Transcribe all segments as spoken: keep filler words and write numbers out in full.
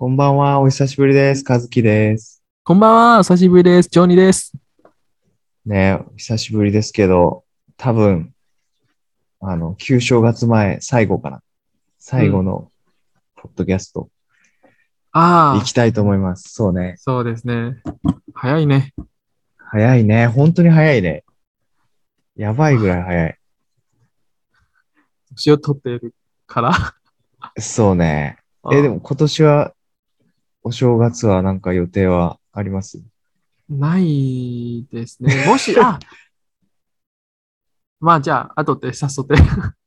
こんばんは、お久しぶりです。和樹です。 こんばんは、お久しぶりです。ジョニーです。 ね、お久しぶりですけど、多分、あの、旧正月前、最後かな。 うん。 最後のポッドキャスト、行ああ、 きたいと思います。そうね。 そうですね。早いね。 早いね。本当に早いね。やばいぐらい早い。 年を取っているから。 そうね。え、であも今年は、お正月はなんか予定はあります？ ないですね。もし、あ、まあじゃあ、後で誘って。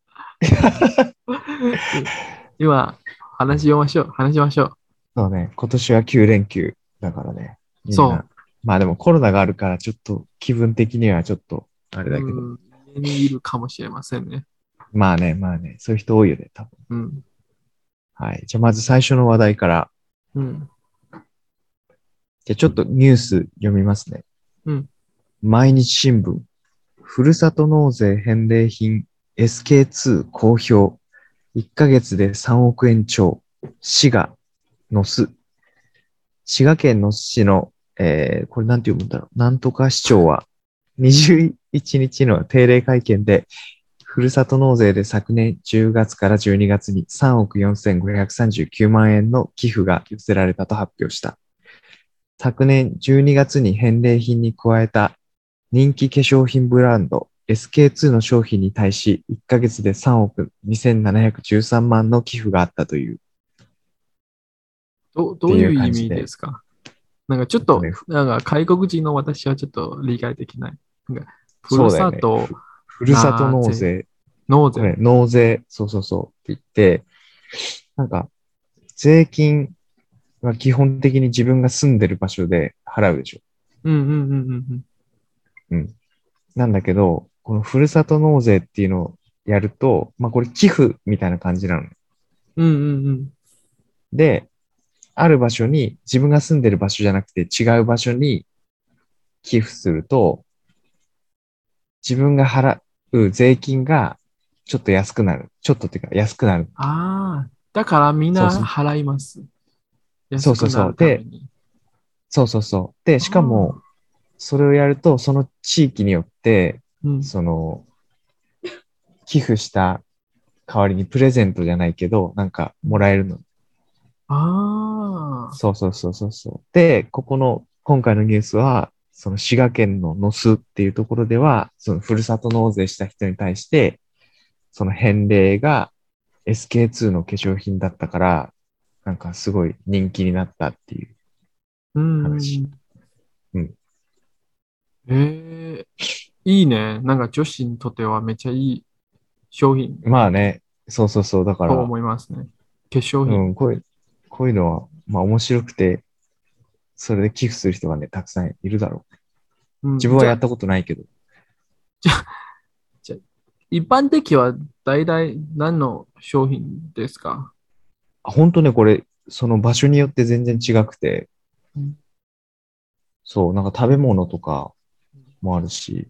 い今、話しましょう。話しましょう。 そうね。今年はきゅう連休だからね。みんな。 そまあでもコロナがあるから、ちょっと気分的にはちょっと、あれう。 だけど。 うん、家にいるかもしれませんね。 まあね、まあね。そういう人多いよね、多分。 うん。 はい。じゃあ、まず最初の話題から。 うん。 じゃあ、ちょっとニュース読みますね。 うん。 毎日新聞。ふるさと納税返礼品 エスケーツー 公表。いっかげつでさんおく円超。滋賀、野洲。滋賀県野洲市の、えー、これなんて読むんだろう。なんとか市長は、にじゅういちにちの定例会見で、ふるさと納税で昨年じゅうがつからじゅうにがつにさんおくよんせんごひゃくさんじゅうきゅうまん円の寄付が寄せられたと発表した。昨年じゅうにがつに返礼品に加えた人気化粧品ブランド エスケーツー の商品に対し、いっかげつでさんおくにせんななひゃくじゅうさんまんの寄付があったという、っど、どていうういう意味で感じで、 すか？なんかちょっと、 えっとね、ふなんか外国人の私はちょっと理解できない。なんか、ふるそうだよね。 さとふ、ふるさと納税、 納税、これ、 納税。 納税、そうそうそうって言って、なんか、税金は基本的に自分が住んでる場所で払うでしょ。 うんうんうんうんうん。 うん。なんだけど、このふるさと納税っていうのをやると、まあこれ寄付みたいな感じなのね。 うんうんうん。 で、ある場所に、自分が住んでる場所じゃなくて違う場所に寄付すると、自分が払う税金がちょっと安くなる。ちょっとっていうか安くなる。 ああ、だからみんなそうそう。 払います。安くなるそうそうそう。で、 ために。 そうそうそう。で、 あしかも、 あ、 それをやると、その地域によって、 うん。 その、寄付した代わりにプレゼントじゃないけど、なんかもらえるの。 ああ、 そうそうそうそうそう。で、ここの、今回のニュースは、その滋賀県の野洲っていうところでは、そのふるさと納税した人に対して、その返礼が エスケーツー の化粧品だったから、なんかすごい人気になったっていううんう話。 んうん。 うん。ええ、いいね。なんか女子にとってはめっちゃいい商品まあね、そうそうそう。だかとら、 思いますね。化粧品。 うん、こういう、こういうのは、まあ面白くて、それで寄付する人がね、たくさんいるだろう。 うん。じゃ、 自分はやったことないけど。 じゃ、じゃ、一般的は大体何の商品ですか？ あ、本当ね、これ、その場所によって全然違くて、 うん。 そう、なんか食べ物とかもあるし、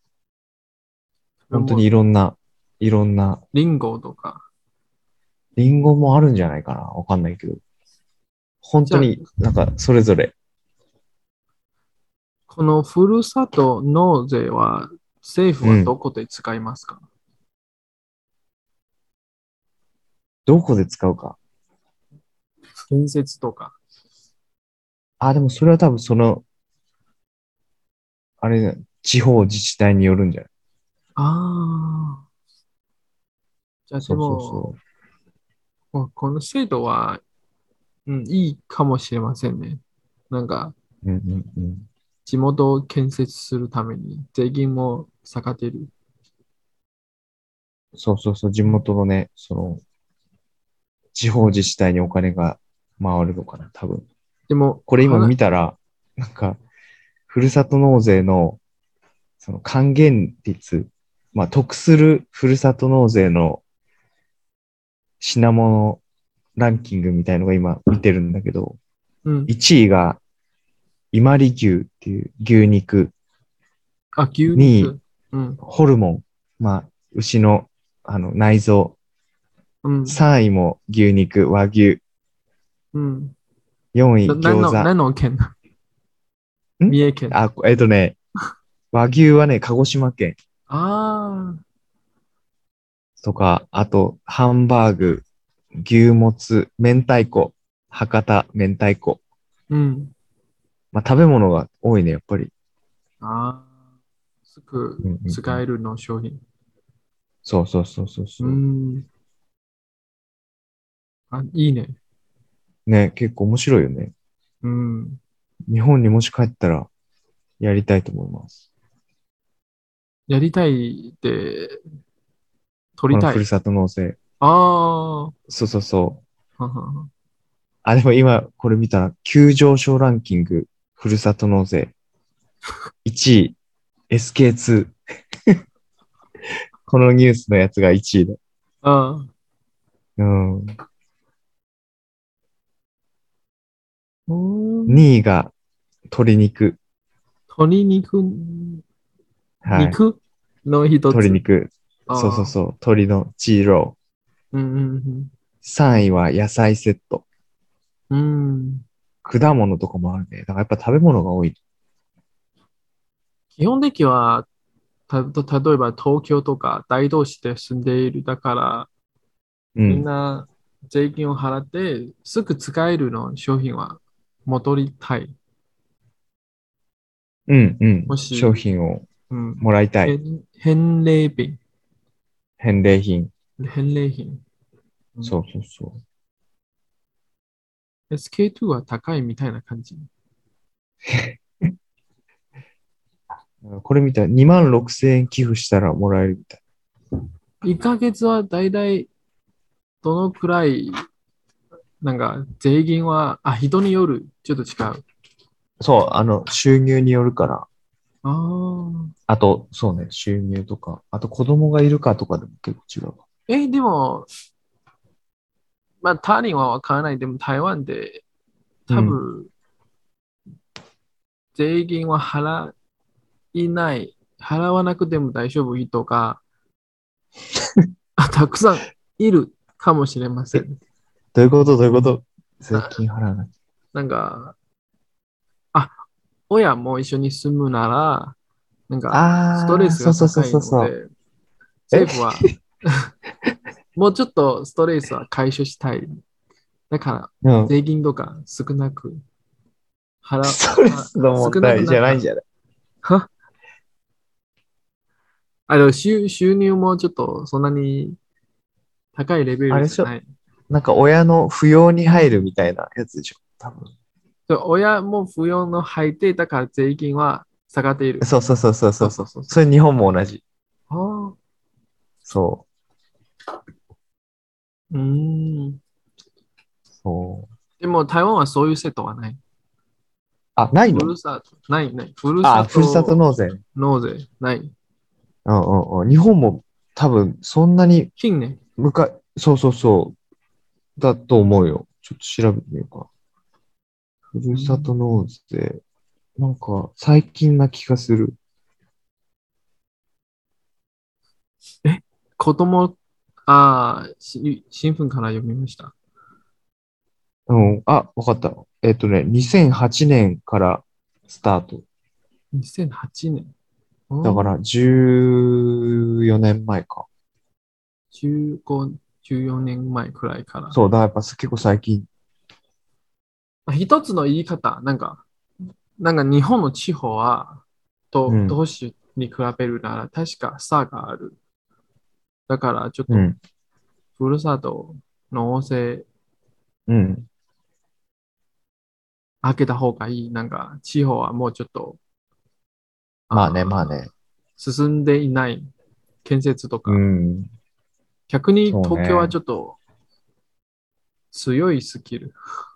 本当にい食べ物、 ろんな、いろんな、 リンゴとか。 リンゴもあるんじゃないかな。わかんないけど。本じゃあ、 当になんかそれぞれ。 このふるさと納税は政府うん。 はどこで使いますか？ どこで使うか。 建設とか。 あ、でもそれは多分その、あれ、地方自治体によるんじゃない？ ああ、じゃあでそうそうも、 そもうこの制度は、うん、いいかもしれませんね。なんか、 う。うんうんうん。 地元を建設するために税金も下がってる。 そうそうそう。地うん。 元のね、その、地方自治体にお金が回るのかな、多分。 でも、 これ今はな、 見たら、なんか、ふるさと納税の、その還元率、まあ、得するふるさと納税の品物ランキングみたいのが今見てるんだけど、 うん。 いちいが伊万里牛っていう牛肉、 あ、牛にい肉。うん。 ホルモン、まあ、牛のあの内臓、 うん。 さんいも牛肉、和牛、 うん。 よんい、 な何の、 餃子。 何の県？ ん三重県。 あ、えっとね、和牛はね、鹿児島県ああ、 とか、あと、ハンバーグ、牛もつ、明太子、博多明太子。 うん。 まあ、食べ物が多いね、やっぱり。 ああ、すぐうんうんうん。 使えるの商品。 そうそうそうそううそん。あ、いいね。 う。ね、結構面白いよね。 うん。 日本にもし帰ったらやりたいと思います。 やりたいで、取りたい。 このふるさと納税。 ああ、はそうそうそう。 はは。 あ、でも今これ見たら、急上昇ランキング、ふるさと納税。いちい、エスケーツー。このニュースのやつがいちいだ。 ああ、 うん。 うーん。 にいが鶏肉。 鶏肉、 はい。 肉の一つ。 鶏肉。そうそうああ、 そう。鶏のチーロー。 うんうんさんいは野菜セット。 うん。うん。 果物とかもあるね。だからやっぱ食べ物が多い。 基本的には、た、例えば東京とか大都市で住んでいる。だから、みんうん。 な税金を払ってすぐ使えるの商品は戻りたい。 うんうん。商もし、 品をうん、 もらいたい。 返返礼品、 返礼品。 返礼品。うん、 そうそうそエスケーツー は高いみたいな感じ。 う。これ見たらにまんろくせんえん寄付したらもらえるみたい。 いっかげつはだいたいどのくらい、なんか税金は、あ、人による、ちょっと違う。 そう、あの、収入によるから。 ああ。 あと、そうね、収入とか。あと子供がいるかとかでも結構違うわ。 え、でも、まあ、他人はわからない。でも台湾でうん。 多分、税金は払いない、払わなくても大丈夫人があたくさんいるかもしれませえ、 ん。 どういうことどういうこと税な、 金払わない。 なんか、あ、親も一緒に住むなら、なんか、ストレあー、 スそうそうそうが高いそうそう。 ので、 え政府はもうちょっとストレスは解消したい。だから、 うん。 税金とか少なく、払、 ストレは、 スの少なく問題じなったら、 ゃないんじゃない？ はあの、収、収入もちょっとそんなに高いレベあれでしょ？ ルじゃない。 なんか親の扶養に入るみたいなやつでしょ多分。 で親も扶養の入ってだから税金は下がっている。 そうそうそうそうそうそうそう。 そうそうそう。 それ日本も同じ。 ああ、 そう。 うーん。 そう。 でも台湾はそういう制度はない。 あ、ないの？ ふるさと、ないない。ふるさあ、ふるさとと納税。 納税、ない。 うんうんうん。日本も多分そんなに近年。 むか、そうそうそう。だと思うよ。ちょっと調べてみようか。ふるさとうん、 納税。なんか最近な気がする。 え、子供、ああ、し新聞から読みました。 うん。あ、わかった。えっとね、にせんはちねんからスタート。 にせんはちねん。 だからうん、 じゅうよねんまえか。 じゅうご、じゅうよねんまえくらいから。 そう、だからやっぱ結構最近。 あ一つの言い方、なんか、なんか日本の地方は、と、 うん。 都市に比べるなら確か差がある。だからちょっと、 うん。 ふるさと納税うん。 開けた方がいい。なんか、地方はもうちょっと、 まあね、まああね。 ー進んでいない建設とうか。 ん。 逆に東京はそうね。 ちょっと強いスキル。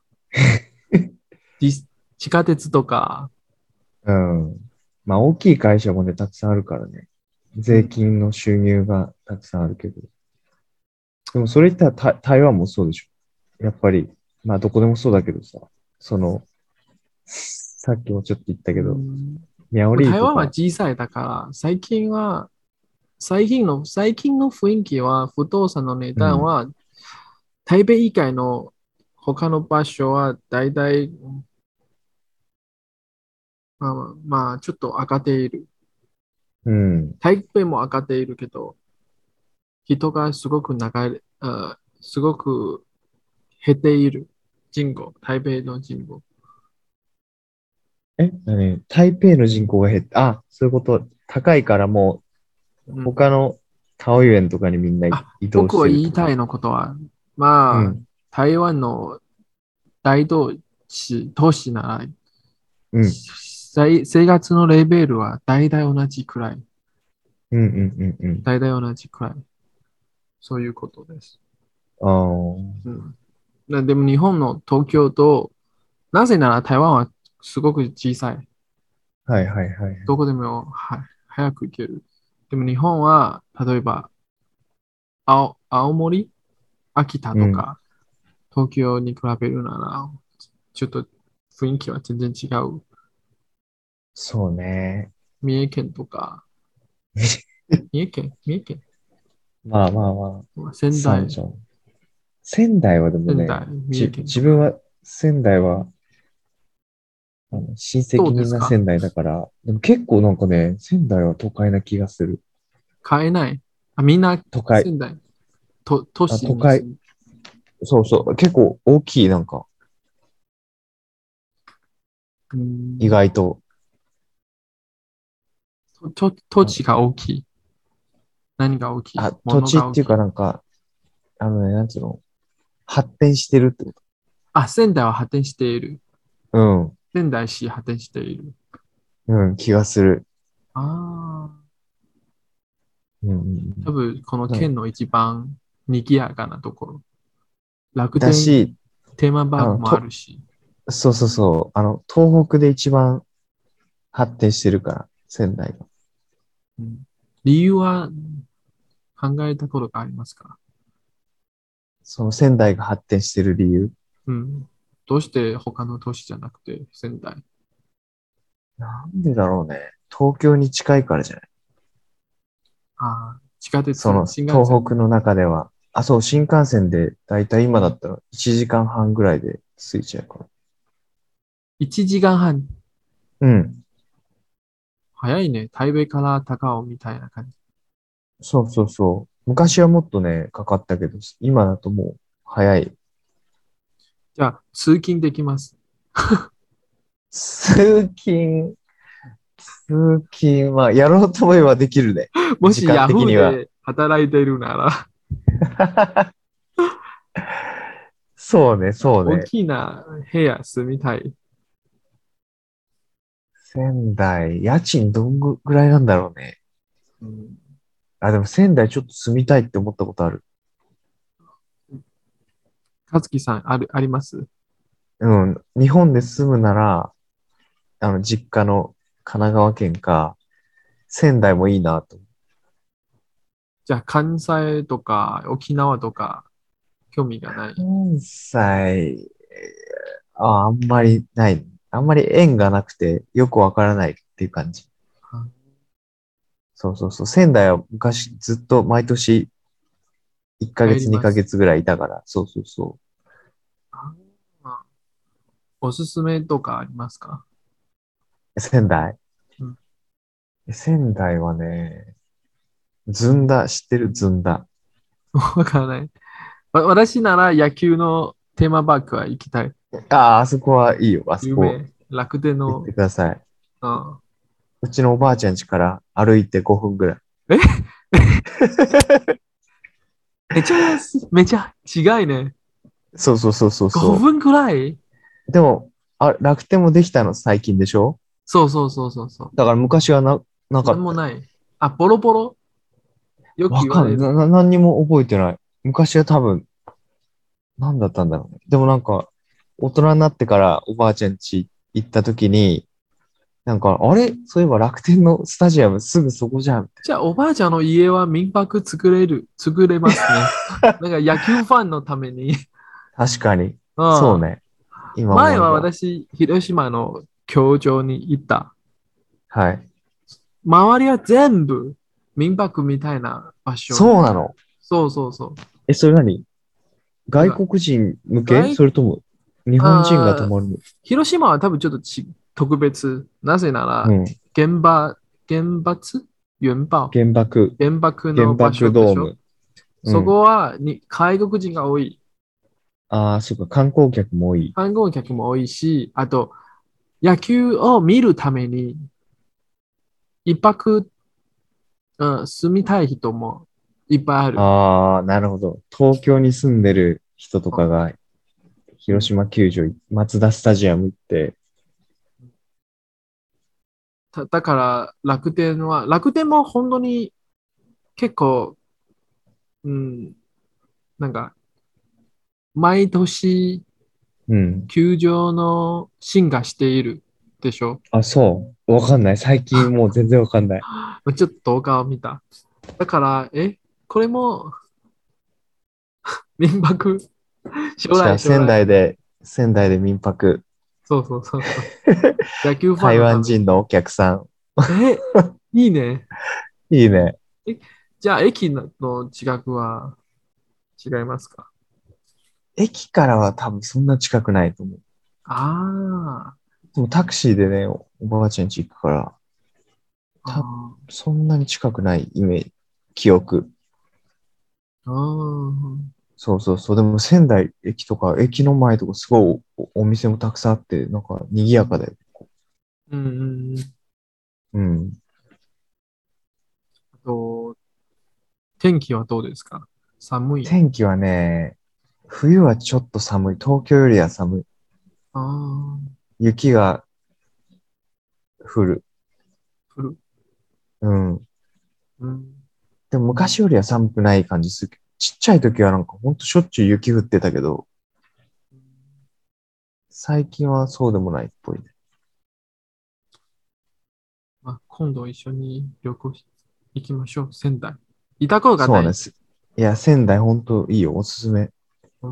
ディス地下鉄とか、 うん。まあ大きい会社もね、たくさんあるからね。税うん、 金の収入がたくさんあるけど。でもそれ言ったら台台湾もそうでしょ。やっぱり、まあどこでもそうだけどさ、その、さっきもちょっと言ったうけど、 ん、 ミャオリー台湾はとか、 小さいだから、最近は、最近の、最近の雰囲気は、不動産の値うん、 段は、台北以外の他の場所はだいたい、まあまあ、まあ、ちょっと上がっている。 うん。 台北も上がっているけど、人がすごく長い、あすごく減っている。人口、台北の人口。 え、何台北の人口が減って、あ、そういうこと。高いからもう、 うん。 他の桃園とかにみんなあ、 移動僕はしてるってこと。 言いたいのことは、まあ、 うん。 台湾の大都市、都市なら、 うん。 生生活のレベルは大体同じくらい。 うん、うん、うん、うん。 大体同じくらい。そういうことです。 ああ、はうん。なでも日本の東京と、なぜなら台湾はすごく小さい。 い、はい、はい。 どこでもは早く行ける。でも日本は、例えば青、青森、秋田うん。 とか、東京に比べるなら、ちょっと雰囲気は全然違う。 そうね。 三重県とか、三重県三重県まあまあまあ、 仙台、 三条。仙台はでもね、 仙台、三重じ、 県とか。 自分は仙台は、あの、親ど戚うですか？ みんな仙台だから、でも結構なんかね、仙台は都会な気がする。 買えない。あ、みんな都会。 仙台、と、都あ、 市都会。 に住む。 そうそう。結構大きい、なんか、 う意ん、 外と。 と、土あ、 地が大きい。何が大きい？ あ土物地っていうかが大きい。 なんか、あのね、なんつうの、発展してるってこあ、仙台は発展している。 と。 仙台市発展している。 うん、うん、気がする。 ああ、 うん、うん、 多分このうん。 県の一番賑やかなところ。楽天だし、 テーマパあの、 ークもあと、 るし。 そうそうそう、あの、東北で一番発展してるから、仙台が。 うん、理由は考えたことがありますか？ その仙台が発展してる理由。 うん。どうして他の都市じゃなくて仙台？ なんでだろうね。東京に近いからじゃない。 ああ、地下鉄、 その、 新幹線。 東北の中では。あ、そう、新幹線で、だいたい今だったらいちじかんはんぐらいで着いちゃうから。 いちじかんはん。 うん。 早いね。台北から高尾みたいな感じ。 そうそうそう。昔はもっとね、かかったけど、今だともう早い。 じゃあ、通勤できます。 通勤、通勤はやろうと思えばできるね。 も時間しヤフー的には。 で働いているなら、 そうね、そう大ね。 きな部屋住みたい。 仙台、家賃どんぐらいなんだろうね。 うん、 あ、でも仙台ちょっと住みたいって思ったことある。 和樹さん、ある、あります？ うん。日本で住むなら、あの、実家の神奈川県か、仙台もいいなと。 じゃあ、関西とか沖縄とか興味がない？ 関西、あ、あんまりない。あんまり縁がなくてよくわからないっていう感じ。 あそうそうそう。仙台は昔ずっと毎年いっかげつ、2 帰ります。 ヶ月ぐらいいたから。そうそうそあおすすめとかありますか？ う。仙台。 うん、 仙台はね、ずんだ、知ってるずんだ。 わからない。わ私なら野球のテーマパークは行きたい。 ああ、あそこはいいよ。あそこ有名。楽天行っての、 ください。 うん、 うちのおばあちゃん家から歩いてごふんぐらい。 えめちゃ、めちゃ違いね。 そうそうそうそうそごふんくらい。 う。でも、あ、楽天もできたの最近でしょ？ そうそうそうそうそだから昔はな、なう。なかったよ。 んもない。あ、ボロボロよくわかんない。 言われる。 な、な何にも覚えてない。昔は多分、何だったんだろうね。でもなんか、大人になってからおばあちゃん家行った時に、なんか、あれそういえば楽天のスタジアムすぐそこじゃん。みたいじゃあ、おばあちゃんの家は民泊作れる、作れますね。なんか野球ファンのために。 な。確かに。 うん。 そうね。今前は思えば。 私、広島の球場に行った。 はい。 周りは全部民泊みたいな場所。 そうなの。 そうそうそう。 え、それ何外国人向け外それとも日本人が泊あーまるの？ 広島は多分ちょっとち特別。なぜなら、 うん。 原爆、原発原爆原爆、 原爆原の場所でしょ。 爆ドーム。うそん。 こはに外国人が多い。 ああ、そっか、観光客も多い。 観光客も多いし、あと、野球を見るために、一泊、うん、住みたい人もいっぱいある。 ああ、なるほど。東京に住んでる人とかが広うん、 島球場、マツダスタジアム行って、 ただから楽天は、楽天も本当に結構、うん、なんか、毎年うん。 球場の進化しているでしょ。 あ、そう。わかんない。最近もう全然わかんない。 ちょっと動画を見た。だから、え、これも民泊、将じゃあ、 来、将仙来。 台で、仙台で民泊。 そうそうそうそう。野球ファン台のために。 湾人のお客さん。 え、いいね。 いいね。 え、じゃあ、駅の近くは違いますか？ 駅からは多分そんな近くないと思う。 あでもタクシーでね、おおばあちゃん家行くから、 あ、 た、 あそんなに近くないイメージ、記憶。 あ、ああ、 そうそうそう。でも仙台駅とか、駅の前とかすごいお、お店もたくさんあって、なんか賑やかだよ。 うん、うん。 うん。 あと、天気はどうですか？寒い？ 天気はね、冬はちょっと寒い。東京よりは寒い。 ああ、 雪が降る。 降る。 うん。 うん。 でも昔よりは寒くない感じする。ちっちゃい時はなんかほんとしょっちゅう雪降ってたけど、最近はそうでもないっぽいね。 まあ、今度一緒に旅行し行きましょう。仙台。いたことがない。 そうなんです。いや、仙台ほんといいよ。おすすめ。 うん。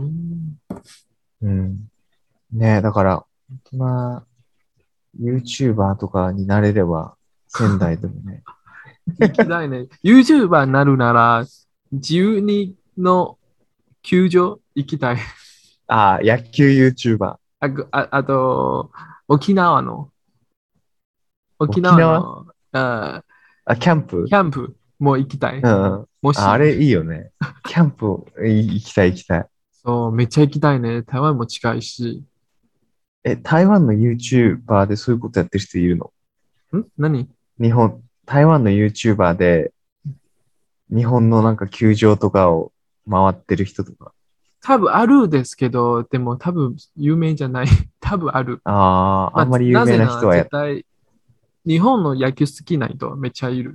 うん。ねえ、だから、本当な、YouTuber とかになれれば、仙台でもね。 行きたいね。YouTuber になるなら、じゅうにの球場行きたい。 ああ、野球 YouTuber。 あ、ぐあ、あと、沖縄の、沖沖縄縄の、あ、 あ、キャンプキャンプも行きたい。 うんうん。あ、あもし、 れいいよね。キャンプ、い行きたい行きたい。 そう、めっちゃ行きたいね。台湾も近いし。 え、台湾の YouTuber でそういうことやってる人いるの？ ん何？ 日本、台湾の YouTuber で日本のなんか球場とかを回ってる人とか。 多分あるですけど、でも多分有名じゃない。多分ある。 ああ、あまあ、 んまり有名なぜならな人はや、 絶対、日本の野球好きな人めっちゃいる。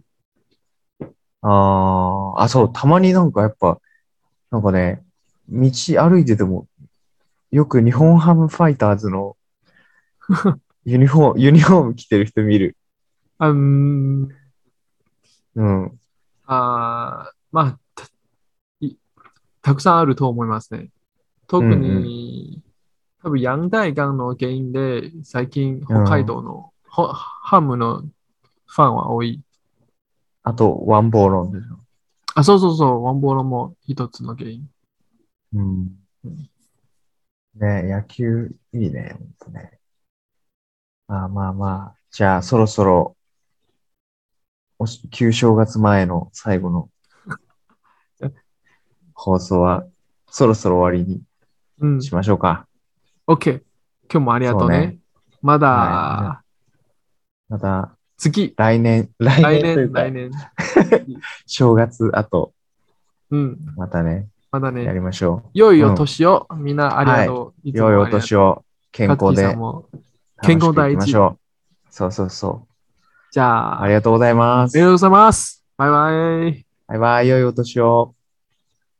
ああ、あ、そう、たまになんかやっぱ、なんかね、道歩いてても、よく日本ハムファイターズのユニフォーム、ユニフォーム着てる人見る。 あ、うーん、 うん。うんあー、まあ、たいたくさんあると思いますね。特うん。 に、多分、ヤング大学の原因で、最近、北海うん。 道のホハムのファンは多い。 あと、ワンボーロンでしょ。 あ、そうそうそう、ワンボールも一つの原因。 うん。 うん、 ね、野球いいね。ほんとね。まあまあまあ。じゃあ、そろそろ、おし旧正月前の最後の放送は、そろそろ終わりにうん。 しましょうか。 OK。今日もありがそうね。 とうね。まはい。じゃあ、 だ、 また、 次、 来年、来来年、 年というか来年。 正月後、 うん。 またね、 まだね。 やりましょう。 良いおうん。 年を。みんなありがはい。 とう。いつ良いおもありがとう。 年を健カズキさん康でも健楽しくいき康第一。 ましょう。そうそうそう。 じゃあ、あありがとうございます。 りがとうございます。バイバイ。 バイバイ、良いお年を。